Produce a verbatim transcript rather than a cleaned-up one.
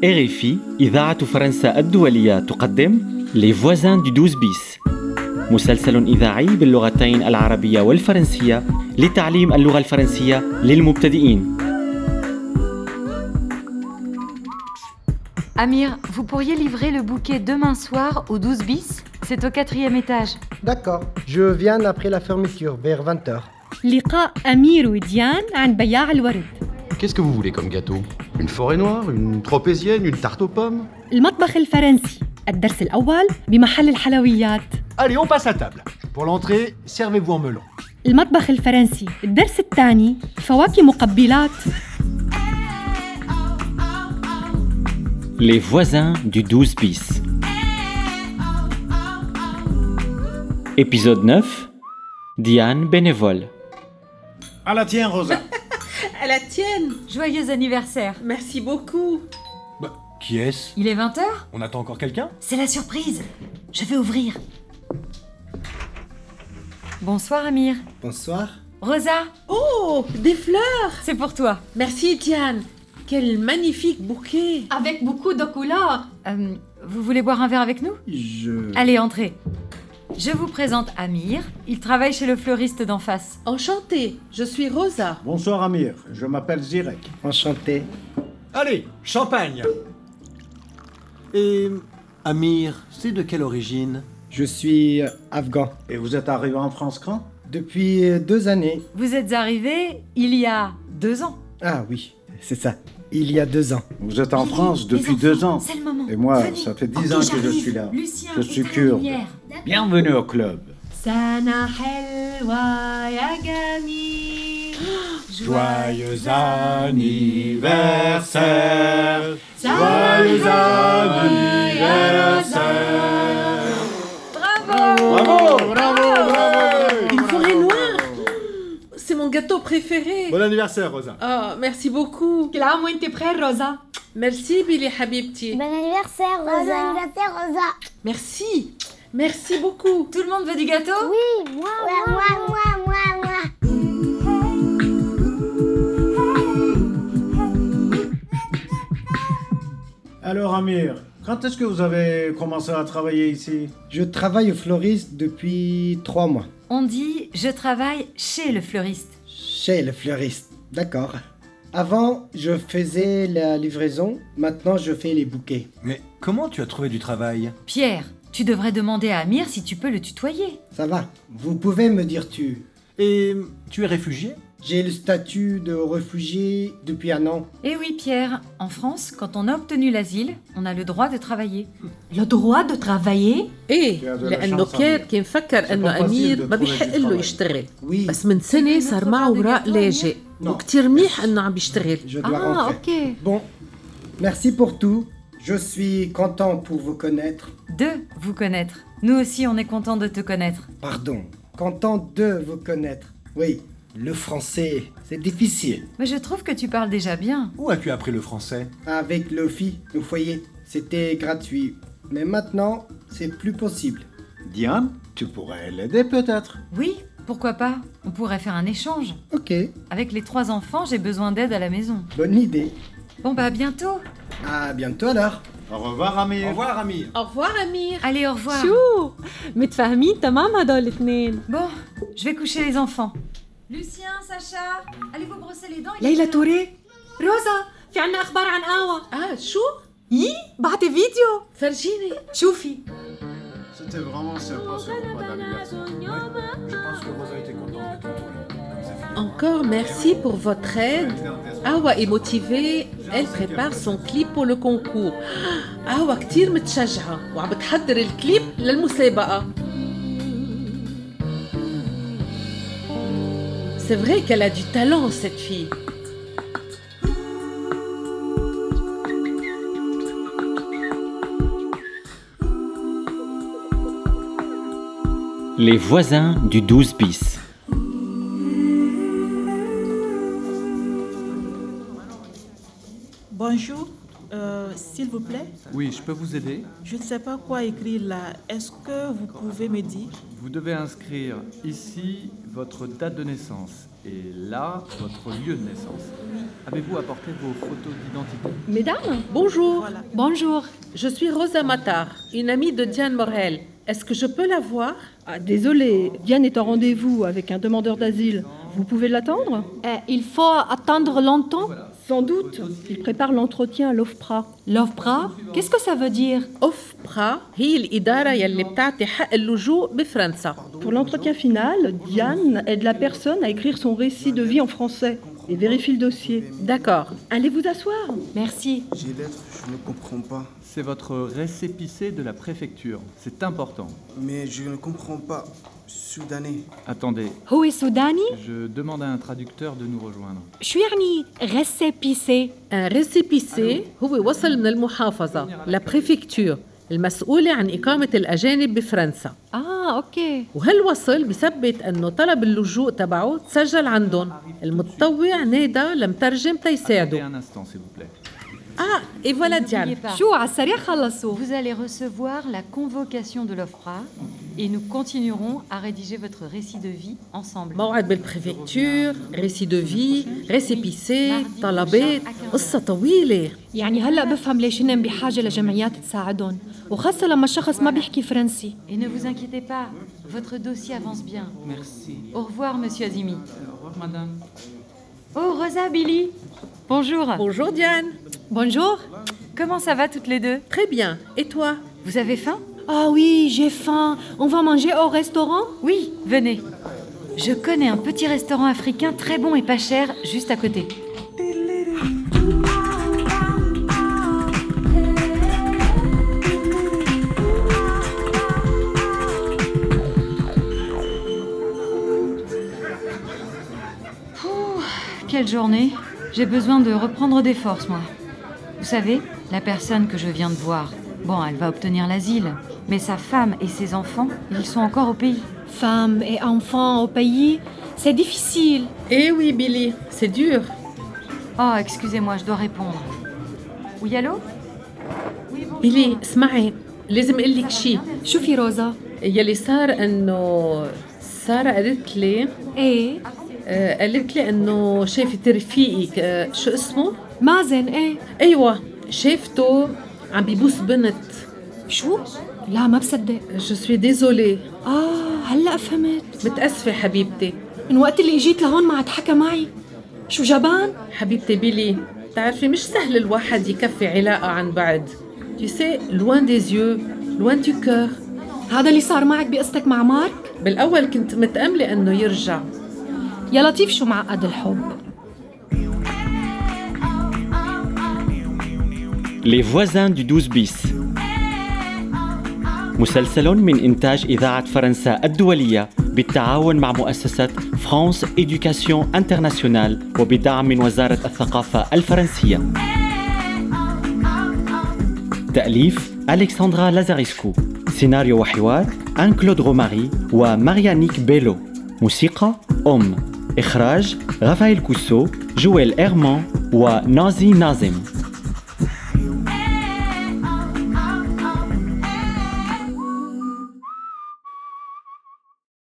إر إف إي إذاعة فرنسا الدولية تقدم Les voisins du douze bis مسلسل إذاعي باللغتين العربية والفرنسية لتعليم اللغة الفرنسية للمبتدئين. Amir, vous pourriez livrer le bouquet demain soir au douze bis? C'est au quatrième étage. D'accord, je viens après la fermeture, vers vingt heures. لقاء أمير وديان عند بياع الورد. Qu'est-ce que vous voulez comme gâteau? Une forêt noire, une tropézienne, une tarte aux pommes? المطبخ الفرنسي. الدرس الأول بمحل الحلويات. Allez, on passe à table. Pour l'entrée, servez-vous en melon. المطبخ الفرنسي. الدرس الثاني فواكه مقبلات. Les voisins du douze bis. Épisode neuf. Diane bénévole. À la tienne, Rosa. À la tienne. Joyeux anniversaire. Merci beaucoup. Bah, qui est-ce? Il est vingt heures? On attend encore quelqu'un? C'est la surprise. Je vais ouvrir. Bonsoir Amir. Bonsoir. Rosa, Oh, des fleurs. c'est pour toi. Merci Diane. Quel magnifique bouquet. Avec beaucoup de couleurs. Euh, vous voulez boire un verre avec nous? Je... Allez, entrez. Je vous présente Amir. Il travaille chez le fleuriste d'en face. Enchantée, je suis Rosa. Bonsoir, Amir. Je m'appelle Zirek. Enchanté. Allez, champagne. Et Amir, c'est de quelle origine? Je suis euh, afghan. Et vous êtes arrivé en France quand? Depuis euh, deux années. Vous êtes arrivé il y a deux ans. Ah oui, c'est ça. Il y a deux ans. Vous êtes en Vite, France les depuis enfants, deux ans. C'est le moment. Et moi, Venez. ça fait dix Ok, ans que je j'arrive. suis là. Lucien, Je suis éteins la kurde. lumière. Bienvenue au club. سنة حلوة يا جميل. Joyeux anniversaire. Joyeux anniversaire. Bravo. Bravo, bravo, bravo. Une forêt noire. C'est mon gâteau préféré. Bon anniversaire, Rosa. Oh, merci beaucoup. كل عام وانت بخير روزا. Merci Billy Habibti. Bon anniversaire, Rosa. Bon anniversaire, Rosa. Merci. Merci beaucoup. Tout le monde veut du gâteau? Oui, moi, ouais, moi, moi, moi, moi. Alors, Amir, quand est-ce que vous avez commencé à travailler ici? Je travaille au fleuriste depuis trois mois. On dit je travaille chez le fleuriste. Chez le fleuriste. D'accord. Avant, je faisais la livraison. Maintenant, je fais les bouquets. Mais comment tu as trouvé du travail? Pierre, tu devrais demander à Amir si tu peux le tutoyer. Ça va. Vous pouvez me dire tu. Et tu es réfugié? J'ai le statut de réfugié depuis un an. Eh oui Pierre, en France, quand on a obtenu l'asile, on a le droit de travailler. Le droit de travailler. ايه يا ذا لانه الشانس كان أمير. كان فكر انه pas facile امير de ما trouver بيحق du له travail. يشتغل Oui, بس من سنه صار معه اوراق لاجئ Non. وكتير منيح انه عم بيشتغل. je dois Ah, rentrer. ok. Bon, merci pour tout. Je suis content pour vous connaître. De vous connaître. Nous aussi, on est content de te connaître. Pardon, content de vous connaître. Oui, le français, c'est difficile. Mais je trouve que tu parles déjà bien. Où as-tu appris le français? Avec le fi, le foyer, c'était gratuit. Mais maintenant, c'est plus possible. Diane, tu pourrais l'aider peut-être. Oui, pourquoi pas? On pourrait faire un échange. Ok, Avec les trois enfants, j'ai besoin d'aide à la maison. bonne idée. Bon bah à bientôt. À bientôt alors. Au revoir, Amir. Au revoir, Amir. Au revoir Amir. Allez, au revoir. شو متفاهمين تمام هدول الاثنين. Bon, je vais coucher les enfants. Lucien, Sacha, allez vous brosser les dents. ليلى توري. روزا في عنا أخبار عن آوا. اه شو؟ يي بعتي فيديو. فرجيني. شوفي. C'était vraiment sympa ce repas d'anniversaire. Je pense que Rosa était contente de t'entourer. Comme ça fait Encore merci pour votre aide. Awa est motivée. Elle prépare son clip pour le concours. Awa كتير متشجعة وعم بتحضر الكليب للمسابقة. C'est vrai qu'elle a du talent cette fille. Les voisins du douze bis. Bonjour, Euh, s'il vous plaît, Oui, je peux vous aider. je ne sais pas quoi écrire là. Est-ce que vous pouvez me dire? Vous devez inscrire ici votre date de naissance et là, votre lieu de naissance. Avez-vous apporté vos photos d'identité? Mesdames, bonjour. Voilà. Bonjour. Je suis Rosa Matar, une amie de Diane Morel. Est-ce que je peux la voir? Ah, désolé, Diane est en rendez-vous avec un demandeur d'asile. Vous pouvez l'attendre? Euh, il faut attendre longtemps. Sans doute. Il prépare l'entretien à l'OFPRA. L'OFPRA, qu'est-ce que ça veut dire? أوفبرا هي الإدارة يلي بتعطي حق اللجوء بفرنسا. Pour l'entretien final, Diane aide la personne à écrire son récit de vie en français et vérifie le dossier. D'accord. Allez vous asseoir. Merci. J'ai lettre, je ne comprends pas. C'est votre récépissé de la préfecture. C'est important. Mais je ne comprends pas. Soudanais. Attendez, هو سوداني؟ je demande à un traducteur de nous rejoindre. شو يعني récépissé؟ Un récépissé هو وصل من المحافظة لا بريفكتور المسؤولة عن إقامة الأجانب بفرنسا. آه أوكي. وهالوصل بثبت أنه طلب اللجوء تبعه تسجل عندهم. المتطوع نادى لمترجم Attendez تيساعده. un instant, s'il vous plaît. Ah, et voilà N'oubliez Diane. pas, شو على السريع خلصوا. vous allez recevoir la convocation de l'OFPRA et nous continuerons à rédiger votre récit de vie ensemble. موعد بالبريفكتور، récit de vie، récépissé، طلبات، قصة طويلة. يعني هلا بفهم ليش هن بحاجة لجمعيات تساعدهم، وخاصة لما الشخص ما بيحكي فرنسي. Et ne vous inquiétez pas, votre dossier avance bien. Merci. Au revoir, monsieur Azimi. Au revoir, madame. Oh, Rosa, Billy. Bonjour. Bonjour Diane. Bonjour. Comment ça va toutes les deux? Très bien. Et toi? Vous avez faim? Ah oui, j'ai faim. On va manger au restaurant? Oui, venez. Je connais un petit restaurant africain très bon et pas cher, juste à côté. Pouh, quelle journée. J'ai besoin de reprendre des forces, moi. Vous savez, la personne que je viens de voir, bon, elle va obtenir l'asile, mais sa femme et ses enfants, ils sont encore au pays. Femmes et enfants au pays, c'est difficile. Eh oui Billy, c'est dur. Oh, excusez-moi, je dois répondre. Oui, allô? بيلي اسمعي، لازم اقول لك شيء. شوفي روزا. يلي صار انه سارة قالت لي ايه آه قالت لي انه شافت رفيقك آه شو اسمه؟ مازن. ايه ايوه شافته عم بيبوس بنت. شو؟ لا ما بصدق. جو سوي ديزولي. اه هلا فهمت. متأسفة حبيبتي. من وقت اللي اجيت لهون ما عاد حكى معي. شو جبان؟ حبيبتي بيلي، بتعرفي مش سهل الواحد يكفي علاقة عن بعد. Tu sais, loin des yeux, loin du cœur. هذا اللي صار معك بقصتك مع مارك؟ بالأول كنت متأملة إنه يرجع. يا لطيف شو معقد الحب. Les voisins du douze bis. مسلسل من إنتاج إذاعة فرنسا الدولية بالتعاون مع مؤسسة فرانس إدوكاسيون انترناسيونال وبدعم من وزارة الثقافة الفرنسية. تأليف ألكسندرا لازاريسكو. سيناريو وحوار أن كلود روماري وماريانيك بيلو. موسيقى أم. إخراج رافائيل كوسو، جويل إيرمان ونازي نازم.